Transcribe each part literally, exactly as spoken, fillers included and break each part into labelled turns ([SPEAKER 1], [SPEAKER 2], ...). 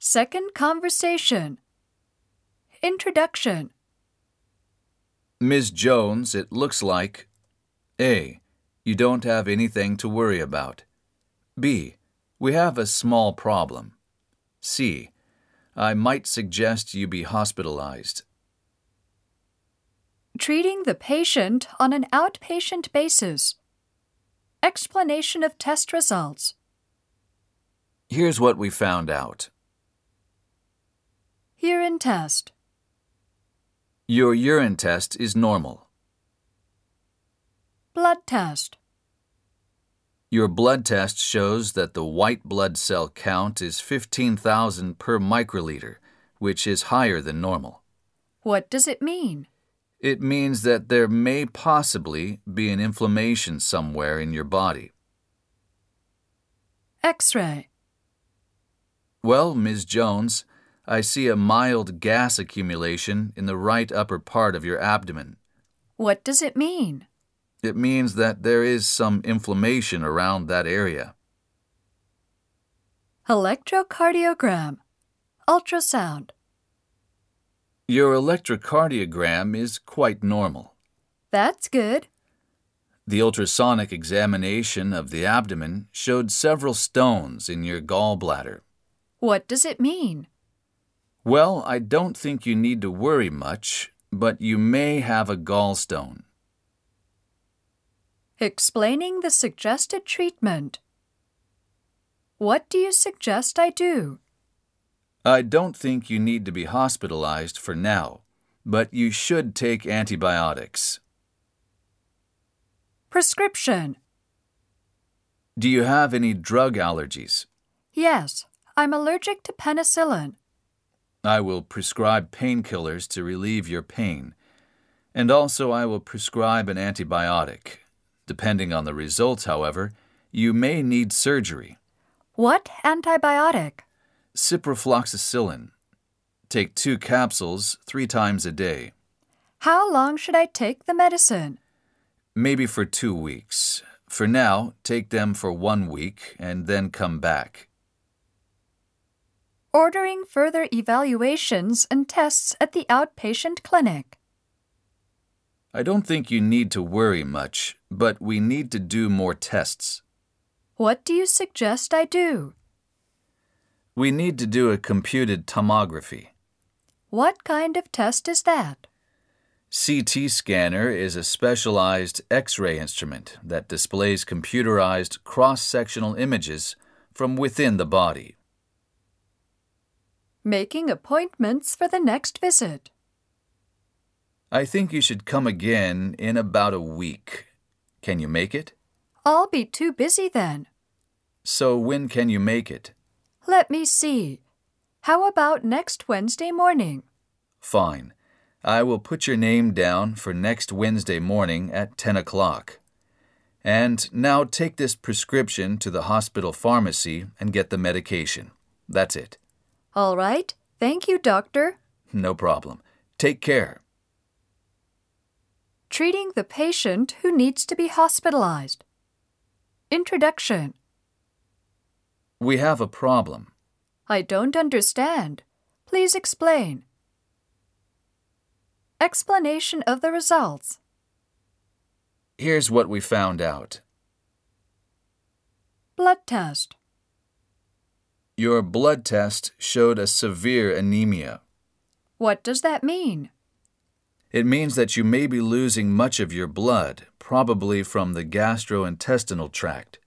[SPEAKER 1] Second conversation. Introduction.
[SPEAKER 2] Miz Jones, it looks like A. You don't have anything to worry about. B. We have a small problem. C. I might suggest you be hospitalized.
[SPEAKER 1] Treating the patient on an outpatient basis. Explanation of test results.
[SPEAKER 2] Here's what we found out.
[SPEAKER 1] Urine test.
[SPEAKER 2] Your urine test is normal.
[SPEAKER 1] Blood test.
[SPEAKER 2] Your blood test shows that the white blood cell count is fifteen thousand per microliter, which is higher than normal.
[SPEAKER 1] What does it mean?
[SPEAKER 2] It means that there may possibly be an inflammation somewhere in your body.
[SPEAKER 1] X-ray.
[SPEAKER 2] Well, Miz Jones, I see a mild gas accumulation in the right upper part of your abdomen.
[SPEAKER 1] What does it mean?
[SPEAKER 2] It means that there is some inflammation around that area.
[SPEAKER 1] Electrocardiogram. Ultrasound.
[SPEAKER 2] Your electrocardiogram is quite normal.
[SPEAKER 1] That's good.
[SPEAKER 2] The ultrasonic examination of the abdomen showed several stones in your gallbladder.
[SPEAKER 1] What does it mean?
[SPEAKER 2] Well, I don't think you need to worry much, but you may have a gallstone.
[SPEAKER 1] Explaining the suggested treatment. What do you suggest I do?
[SPEAKER 2] I don't think you need to be hospitalized for now, but you should take antibiotics.
[SPEAKER 1] Prescription.
[SPEAKER 2] Do you have any drug allergies?
[SPEAKER 1] Yes, I'm allergic to penicillin.
[SPEAKER 2] I will prescribe painkillers to relieve your pain, and also I will prescribe an antibiotic. Depending on the results, however, you may need surgery.
[SPEAKER 1] What antibiotic?
[SPEAKER 2] Ciprofloxacillin. Take two capsules three times a day.
[SPEAKER 1] How long should I take the medicine?
[SPEAKER 2] Maybe for two weeks. For now, take them for one week and then come back.
[SPEAKER 1] Ordering further evaluations and tests at the outpatient clinic.
[SPEAKER 2] I don't think you need to worry much, but we need to do more tests.
[SPEAKER 1] What do you suggest I do?
[SPEAKER 2] We need to do a computed tomography.
[SPEAKER 1] What kind of test is that?
[SPEAKER 2] C T scanner is a specialized X-ray instrument that displays computerized cross-sectional images from within the body.
[SPEAKER 1] Making appointments for the next visit.
[SPEAKER 2] I think you should come again in about a week. Can you make it?
[SPEAKER 1] I'll be too busy then.
[SPEAKER 2] So when can you make it?
[SPEAKER 1] Let me see. How about next Wednesday morning?
[SPEAKER 2] Fine. I will put your name down for next Wednesday morning at ten o'clock. And now take this prescription to the hospital pharmacy and get the medication. That's it.
[SPEAKER 1] All right. Thank you, doctor.
[SPEAKER 2] No problem. Take care.
[SPEAKER 1] Treating the patient who needs to be hospitalized. Introduction.
[SPEAKER 2] We have a problem.
[SPEAKER 1] I don't understand. Please explain. Explanation of the results.
[SPEAKER 2] Here's what we found out.
[SPEAKER 1] Blood test.
[SPEAKER 2] Your blood test showed a severe anemia.
[SPEAKER 1] What does that mean?
[SPEAKER 2] It means that you may be losing much of your blood, probably from the gastrointestinal tract.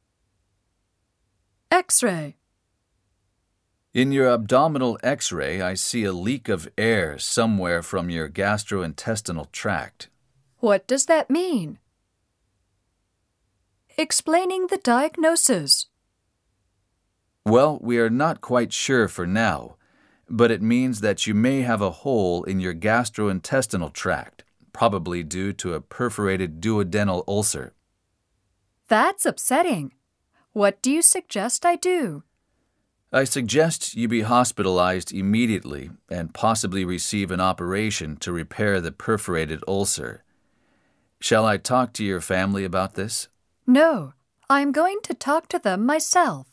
[SPEAKER 1] X-ray.
[SPEAKER 2] In your abdominal X-ray, I see a leak of air somewhere from your gastrointestinal tract.
[SPEAKER 1] What does that mean? Explaining the diagnosis.
[SPEAKER 2] Well, we are not quite sure for now, but it means that you may have a hole in your gastrointestinal tract, probably due to a perforated duodenal ulcer.
[SPEAKER 1] That's upsetting. What do you suggest I do?
[SPEAKER 2] I suggest you be hospitalized immediately and possibly receive an operation to repair the perforated ulcer. Shall I talk to your family about this?
[SPEAKER 1] No, I'm going to talk to them myself.